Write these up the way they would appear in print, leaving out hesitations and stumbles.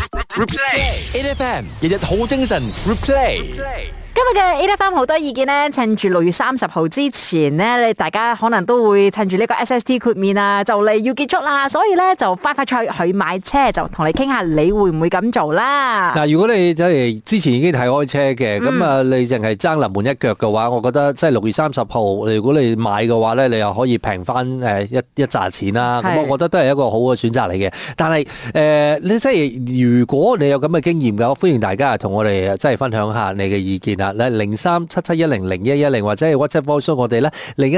Replay，8FM 日日好精神。Replay。 今日嘅 8FM 好多意見呢，趁住6月30號之前呢，你大家可能都會趁住呢個 SST 豁免啊，就嚟要結束啦，所以呢，就快脆去買車，就同你傾下，你會唔會咁做啦？ 嗱，如果你即係之前已經睇開車嘅，咁啊，你淨係爭臨門一腳嘅話，我覺得即係6月30號，如果你買嘅話咧，你又可以平翻一紮錢啦。咁我覺得都係一個好嘅選擇嚟嘅。但係你即係如果你有咁嘅經驗嘅，歡迎大家同我哋即係分享下你嘅意見啦。0377100110或者係 WhatsApp voice 我哋咧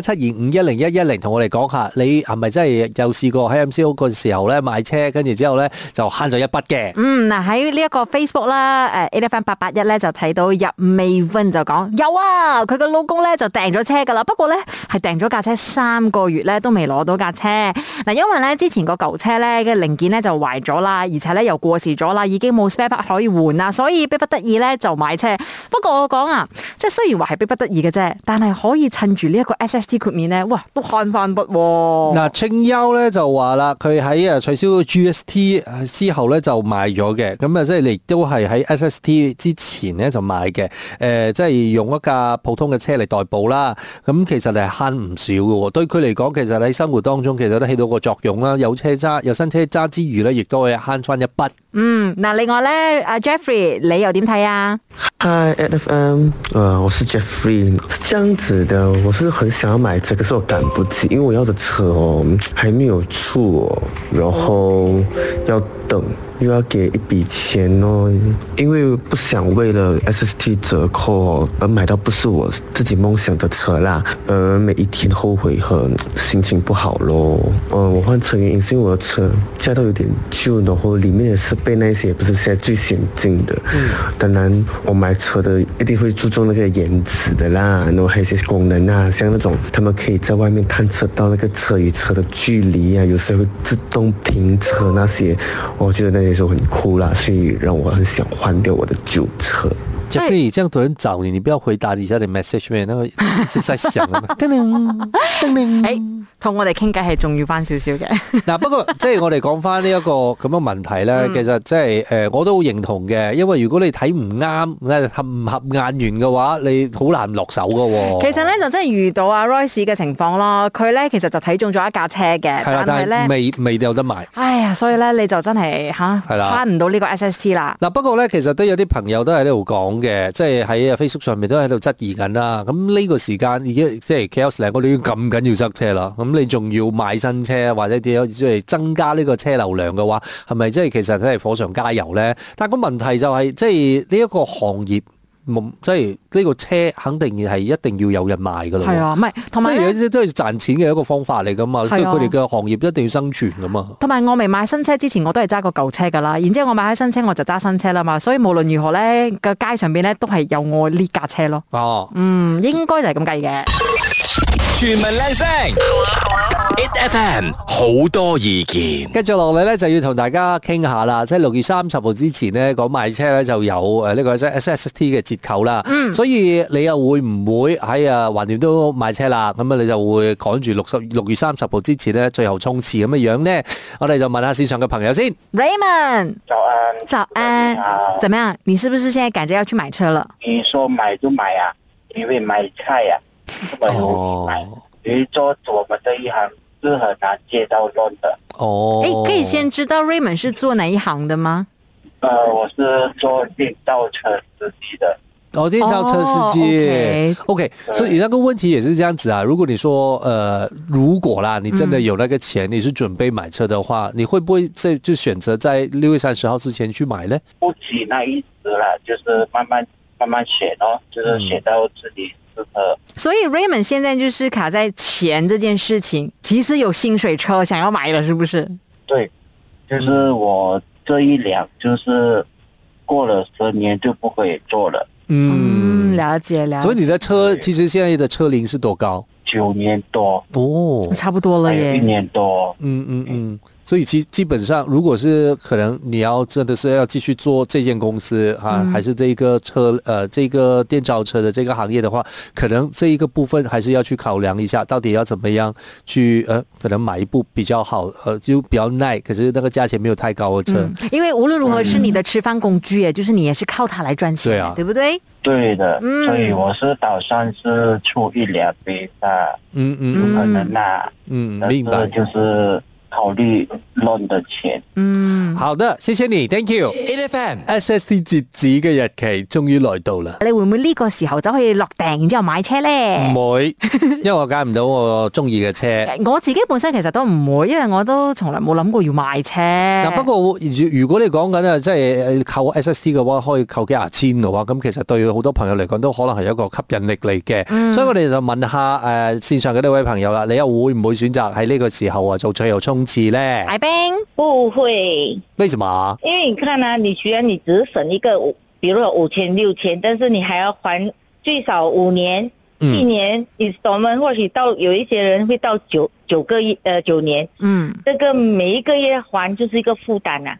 0172510110，同我哋講下你係咪真係有試過喺 MCO 嗰時候咧買車，跟住之後咧就慳咗一筆嘅。 嗱，喺呢一個 Facebook 啦，8FM881咧就睇到入美芬就講有啊，佢個老公咧就訂咗車噶啦，不過咧係訂咗架車3個月咧都未攞到架車。嗱，因為咧之前個舊車咧嘅零件咧就壞咗啦，而且咧又過時咗啦，已經冇 spare part 可以換啦，所以逼不得已咧就買車。不過我講啊，即係雖然話係逼不得已嘅啫，但係可以趁住呢一個 SST 豁免咧，哇，都慳翻筆。 嗱，清幽咧就話啦，佢喺取消 GST 之後咧就買咗嘅，咁啊即係你都係喺 SST 之前咧就買嘅，即係用一架普通嘅車嚟代步啦。咁其實你係慳唔少嘅，對佢嚟講，其實喺生活當中其實都起到個作用啦。有車揸，有新車揸之餘咧，亦都可以慳翻一筆。 嗱，另外咧，阿 Jeffrey 你又點睇啊 ？Hi8FM，我是 Jeffrey， 是這樣子的，我是很想要買車，可是我趕不及，因為我要的車還沒有出然後要等，又要給一筆錢因為不想為了 SST 折扣而買到不是我自己夢想的車啦，每一天後悔和心情不好咯。我換車原因是因為我的車現在都有點舊，然後裡面的設備那些也不是現在最先進的。當然我買車的一定會注重那個顏值的啦，然後還有一些功能啊，像那種他們可以在外面探測到那個車與車的距離啊，有時候會自動停車那些，我覺得那些時候很酷啦，所以讓我很想換掉我的舊車。 Jeffrey，這樣多人找你，你不要回答一下你 message 咩？那個一直在響啊嘛。 同我哋傾偈係重要翻少少嘅。 嗱，不過即係我哋講翻呢一個咁嘅問題咧，其實即係我都好認同嘅，因為如果你睇唔啱，唔合眼緣嘅話，你好難落手噶。 其實咧就真係遇到阿 Royce 嘅情況咯，佢咧其實就睇中咗一架車嘅，但係咧未有得買。 哎呀，所以咧你就真係慳唔到呢個 SST 啦。 嗱，不過咧其實都有啲朋友都喺呢度講嘅，即係喺 Facebook 上面都喺度質疑緊啦。咁呢個時間已經即係 KL 我哋已經咁緊要塞車啦，咁你仲要買新車或者點樣即係增加呢個車流量嘅話，係咪即係其實真係火上加油咧？但係個問題就係即係呢一個行業。即係呢個車肯定係一定要有人賣噶啦， 係啊，唔係同埋即係都係賺錢嘅一個方法嚟噶嘛，即係佢哋嘅行業一定要生存噶嘛。 同埋我未買新車之前，我都係揸個舊車噶啦，然之後我買開新車我就揸新車啦嘛，所以無論如何咧，個街上邊咧都係有我呢架車咯。 哦， 應該就係咁計嘅。 全民靚聲，8FM 好多意見。 跟住落嚟咧，就要同大家傾下啦。即係6月30號之前咧，講買車咧就有呢個 SST 嘅折扣啦。所以你又會唔會喺橫掂都買車啦？咁啊，你就會趕住6月30號之前咧，最後衝刺咁嘅樣咧？我哋就問下市場嘅朋友先。 Raymond，早安，怎麼樣？你是不是現在趕着要去買車了？ 你說買就買啊，因為買菜啊。這麼容易買，比如說我們這一行是很難借到 loan 的。 可以先知道 Raymond 是做哪一行的嗎？ 我是做電召車司機的。 電召車司機。OK， 所以那個問題也是這樣子啊。如果你說如果啦，你真的有那個錢，你是準備買車的話，你會不會就選擇在6月30號之前去買呢？ 不急那一時啦，就是慢慢選哦，就是選到自己。 所以 Raymond 現在就是卡在錢這件事情，其實有薪水車想要買了，是不是？ 對，就是我這一輛就是過了10年就不會做了。 了解。 所以你的車其實現在的車齡是多高？ 9年多。 哦， 差不多了耶。 1年多。 所以基本上，如果是可能你要真的是要继续做这间公司还是这一个这个电召车的这个行业的话，可能这一个部分还是要去考量一下，到底要怎么样去可能买一部比较好就比较耐，可是那个价钱没有太高的车。 因为无论如何是你的吃饭工具，就是你也是靠它来赚钱， 对啊， 对不对？ 对的，所以我是打算是出一辆比赛，有可能明白， 就是考慮 loan 的錢。 好的，謝謝你 ，Thank you。8FM SST 截止嘅日期終於來到啦。 你會唔會呢個時候就可以落訂，然之後買車咧？ 唔會，因為我揀唔到我中意嘅車。 我自己本身其實都唔會，因為我都從來冇諗過要買車。 嗱，不過如果你講緊啊，即係扣 SST 嘅話，可以扣幾廿千嘅話，咁其實對好多朋友嚟講都可能係一個吸引力嚟嘅。所以我哋就問下線上嘅呢位朋友啦，你又會唔會選擇喺呢個時候做最後衝刺咧？ 艾冰不會， 為什麼？ 因為你看啊，你雖然你只是省一個，比如說5000、6000，但是你還要還最少5年、7年 installment，或許到有一些人會到9年，這個每一個月還就是一個負擔啊。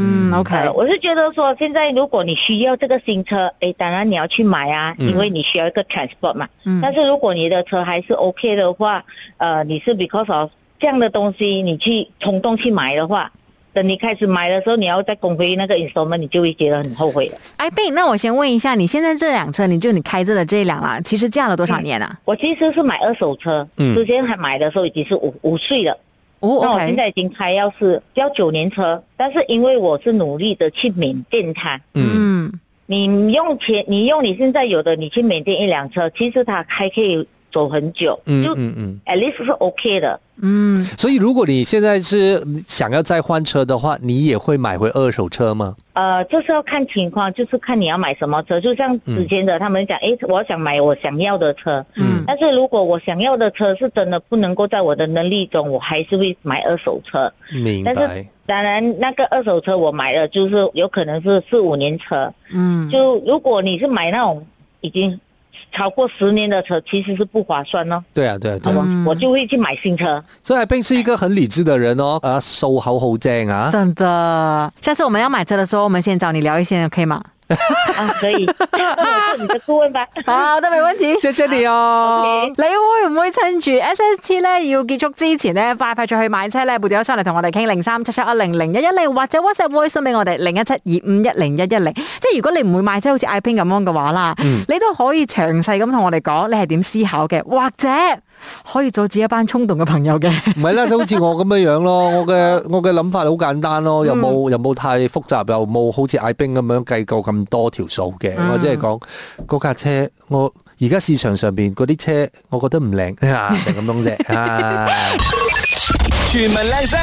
OK， 我是覺得說，現在如果你需要這個新車，當然你要去買啊，因為你需要一個 transport 嘛。但是如果你的車還是 OK 的話，你是 because of這樣的東西，你去衝動去買的話，等你開始買的時候，你要再供回那個 installment，你就會覺得很後悔了。 哎，Ben，那我先問一下，你現在這輛車，你開着的這輛啦，其實駕了多少年啊？ 我其實是買二手車，之前還買的時候已經是5歲了。那我現在已經開要9年車，但是因為我是努力的去maintain它。你用你現在有的，你去maintain一輛車，其實它還可以走很久，就at least 是 OK 的。 所以如果你現在是想要再換車的話，你也會買回二手車嗎？ 這是要看情況，就是看你要買什麼車。就像之前的他們講，我想買我想要的車，但是如果我想要的車是真的不能夠在我的能力中，我還是會買二手車。 明白。 但是當然那個二手車我買了，就是有可能是4-5年車。就如果你是買那種已經超過10年的車，其實是不划算哦。 對啊， 我就會去買新車。 所以阿冰是一個很理智的人哦，數口好正啊。 真的，下次我們要買車的時候，我們先找你聊一些，可以嗎？ 可以，我做你的顧問吧。 好的，沒問題。謝謝你哦。你會唔會趁住 SST 咧要結束之前咧，快出去買車咧？撥電話上嚟同我哋傾0377100110，或者 WhatsApp voice 送俾我哋0172510110。即係如果你唔會買車，好似艾冰咁樣嘅話啦，你都可以詳細咁同我哋講，你係點思考嘅，或者可以阻止一班衝動嘅朋友嘅。 唔係啦，就好似我咁樣咯，我嘅諗法好簡單咯，又冇太複雜，又冇好似艾冰咁樣計夠咁多條數嘅。我只係講嗰架車，我而家市場上邊嗰啲車，我覺得唔靚就咁樣啫。 全民靚聲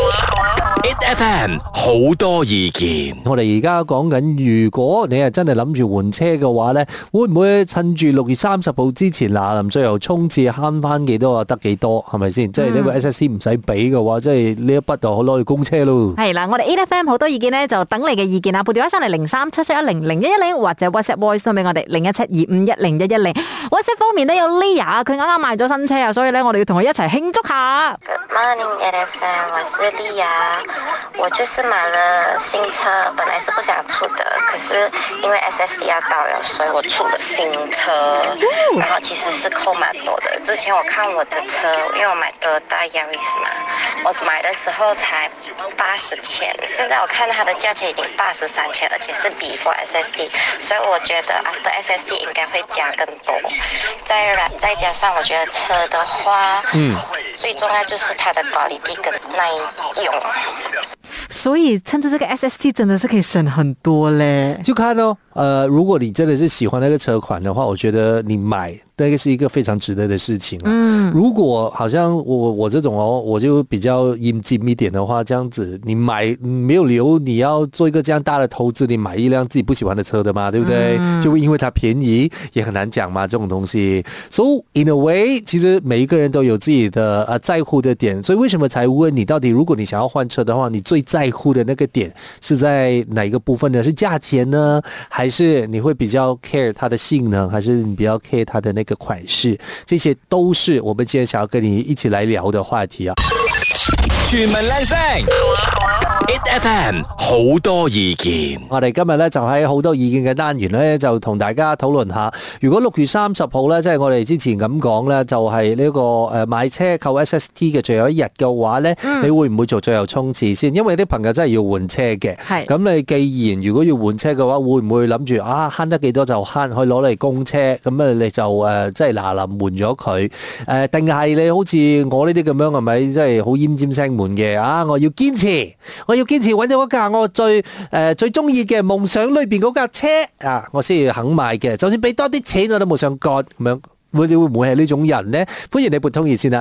，8FM 好多意見。 我哋而家講緊，如果你係真係諗住換車嘅話咧，會唔會趁住6月30號之前臨最後衝刺慳翻幾多得幾多？係咪先？即係呢個 SST 唔使俾嘅話，即係呢一筆就可攞去供車咯。係啦，我哋 8FM 好多意見咧，就等你嘅意見啊！撥電話上嚟0377100110，或者 WhatsApp voice 送俾我哋0172510110。WhatsApp 方面咧有 Lia， 佢啱啱買咗新車啊，所以咧我哋要同佢一齊慶祝下。 Good morning 8FM， 我是莉亞，我就是買了新車，本來是不想出的，可是因為 SST 要到了，所以我出了新車，然後其實是扣蠻多的。之前我看我的車，因為我買Toyota Yaris嘛，我買的時候才80千，現在我看它的價錢已經83千，而且是 before SST， 所以我覺得 after SST 應該會加更多。再加上我覺得車的話，最重要就是它的quality跟耐用。 所以趁着這個 SST 真的是可以省很多嘞。 就看哦，如果你真的是喜歡那個車款的話，我覺得你買那個是一個非常值得的事情。如果好像我這種哦，我就比較陰尖一點的話，這樣子你買沒有理由你要做一個這樣大的投資，你買一輛自己不喜歡的車的嘛，對不對？就會因為它便宜，也很難講嘛，這種東西。So in a way，其實每一個人都有自己的在乎的點，所以為什麼才問你到底，如果你想要換車的話，你最在乎的那個點是在哪一個部分呢？是價錢呢，還是你會比較 care 它的性能，還是你比較 care 它的那個款式？這些都是我們今天想要跟你一起來聊的話題啊。 全民靚聲，8FM 好多意見。 我哋今日咧就喺好多意見嘅單元咧，就同大家討論下，如果6月30號咧，即係我哋之前咁講咧，就係呢個誒買車購 SST 嘅最後一日嘅話咧，你會唔會做最後衝刺先？因為啲朋友真係要換車嘅。係。咁你既然如果要換車嘅話，會唔會諗住慳得幾多就慳，可以攞嚟供車？咁啊你就即係嗱臨換咗佢。定係你好似我呢啲咁樣係咪？即係好奄尖聲悶嘅我要堅持揾到嗰架我最中意嘅夢想裏邊嗰架車我先要肯買嘅，就算俾多啲錢我都冇想割咁樣。會唔會係呢種人呢？歡迎你撥通熱線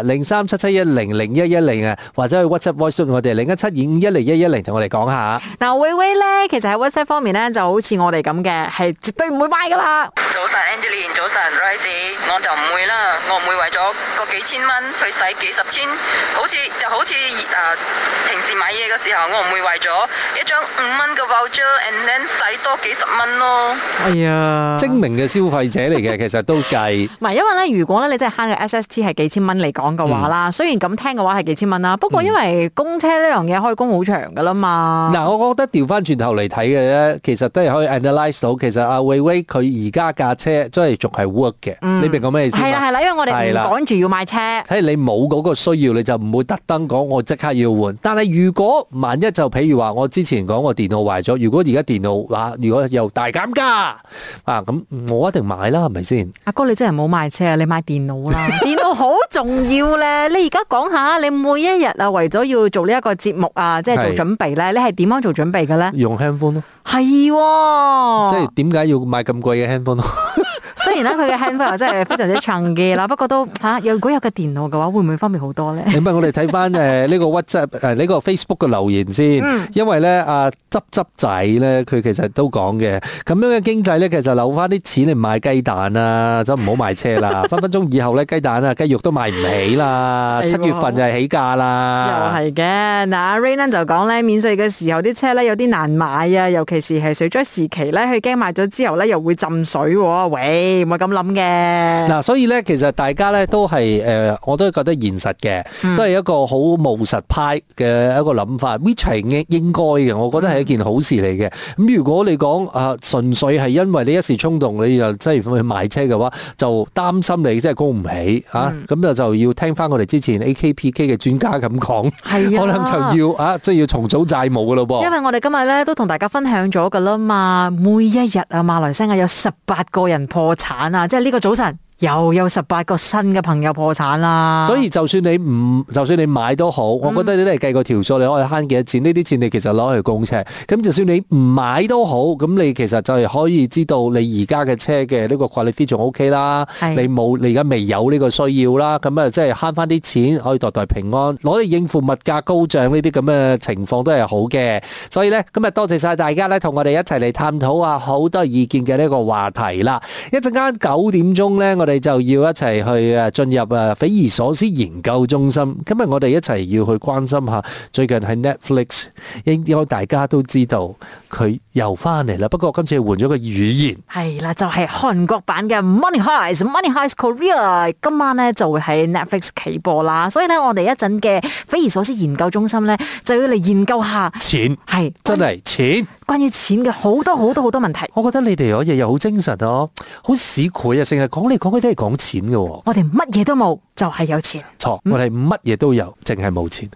0377100110啊，或者去 WhatsApp voice 我哋0172510110同我哋講下。 嗱，威威咧，其實喺 WhatsApp 方面咧，就好似我哋咁嘅，係絕對唔會買噶啦。 早晨 Angeline， 早晨 Rice， 我就唔會啦，我唔會為咗個幾千蚊去使幾十千，好似平時買嘢嘅時候，我唔會為咗一張5蚊嘅 voucher，and then 使多幾十蚊咯。 哎呀， 精明嘅消費者嚟嘅，其實都計。 唔係，因為咧，如果咧你真係慳嘅 SST 係幾千蚊嚟講嘅話啦，雖然咁聽嘅話係幾千蚊啦，不過因為供車呢樣嘢可以供好長噶啦嘛。嗱， 我覺得調翻轉頭嚟睇嘅咧，其實都係可以 analyse 到，其實阿威威佢而家架車真係仲係 work 嘅。你明講咩意思？ 係啦，因為我哋唔趕住要買車。 睇你冇嗰個需要，你就唔會特登講我即刻要換。但係如果萬一就譬如話我之前講我電腦壞咗，如果而家電腦如果又大減價咁我一定買啦，係咪先？ 阿哥你真係冇買車啊，你買電腦啦，電腦好重要咧。你而家講下，你每一日為咗要做呢一個節目即係做準備咧，你係點樣做準備嘅咧？ 用 handphone 咯， 係， 即係點解要買咁貴嘅 handphone 咯？ 雖然咧佢嘅 handphone 又真係非常之長嘅啦，不過都如果有個電腦嘅話，會唔會方便好多咧？ 咁我哋睇翻呢個 WhatsApp 呢個 Facebook 嘅留言先，因為咧執仔咧，佢其實都講嘅，咁樣嘅經濟咧，其實留翻啲錢嚟買雞蛋啊，就唔好買車啦。分分鐘以後咧，雞蛋雞肉都買唔起啦。7月份就係起價啦。又係嘅。嗱，阿 Raymond 就講咧，免稅嘅時候啲車咧有啲難買啊，尤其是係水災時期咧，佢驚買咗之後咧又會浸水。喂，唔係咁諗嘅。嗱，所以咧其實大家咧都係我都覺得現實嘅，都係一個好務實派嘅一個諗法，which 係應該嘅。我覺得係一件好事嚟嘅。咁如果你講純粹係因為你一時衝動，你又真係去買車嘅話，就擔心你真係供唔起咁就要聽翻我哋之前 AKPK 嘅專家咁講，可能就要即係要重組債務噶咯噃。因為我哋今日咧都同大家分享咗噶啦嘛，每一日馬來西亞有18個人破產啊，即係呢個早晨。又有18個新嘅朋友破產啦，所以就算你買都好，我覺得你都係計個條數，你可以慳幾多錢？呢啲錢你其實攞去供車，咁就算你唔買都好，咁你其實就係可以知道你而家嘅車嘅呢個 quality 仲 OK 啦，你而家未有呢個需要啦，咁即係慳翻啲錢，可以代代平安，攞嚟應付物價高漲呢啲咁嘅情況都係好嘅。所以咧，今日多謝晒大家咧，同我哋一齊嚟探討下好多意見嘅呢個話題啦。一陣間9點鐘咧，我哋就要一齊去進入匪夷所思研究中心。今日我哋一齊要去關心下最近喺 Netflix， 應該大家都知道佢又翻嚟啦。不過今次換咗個語言，係啦，就係韓國版嘅 Money Heist，Money Heist Korea。今晚咧就會喺 Netflix 起播啦。所以咧，我哋一陣嘅匪夷所思研究中心咧，就要嚟研究下錢，係真係錢，關於錢嘅好多問題。我覺得你哋嗰日又好精神哦，好市儈啊，成日講嚟講去都係講錢嘅。我哋乜嘢都冇，就係有錢。錯，我哋乜嘢都有，淨係冇錢。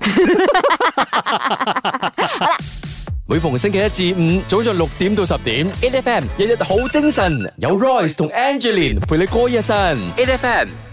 好啦， 每逢星期一至五早上6點到10點 ，8FM 日日好精神，有 Royce 同 Angeline 陪你過一晨 ，8FM。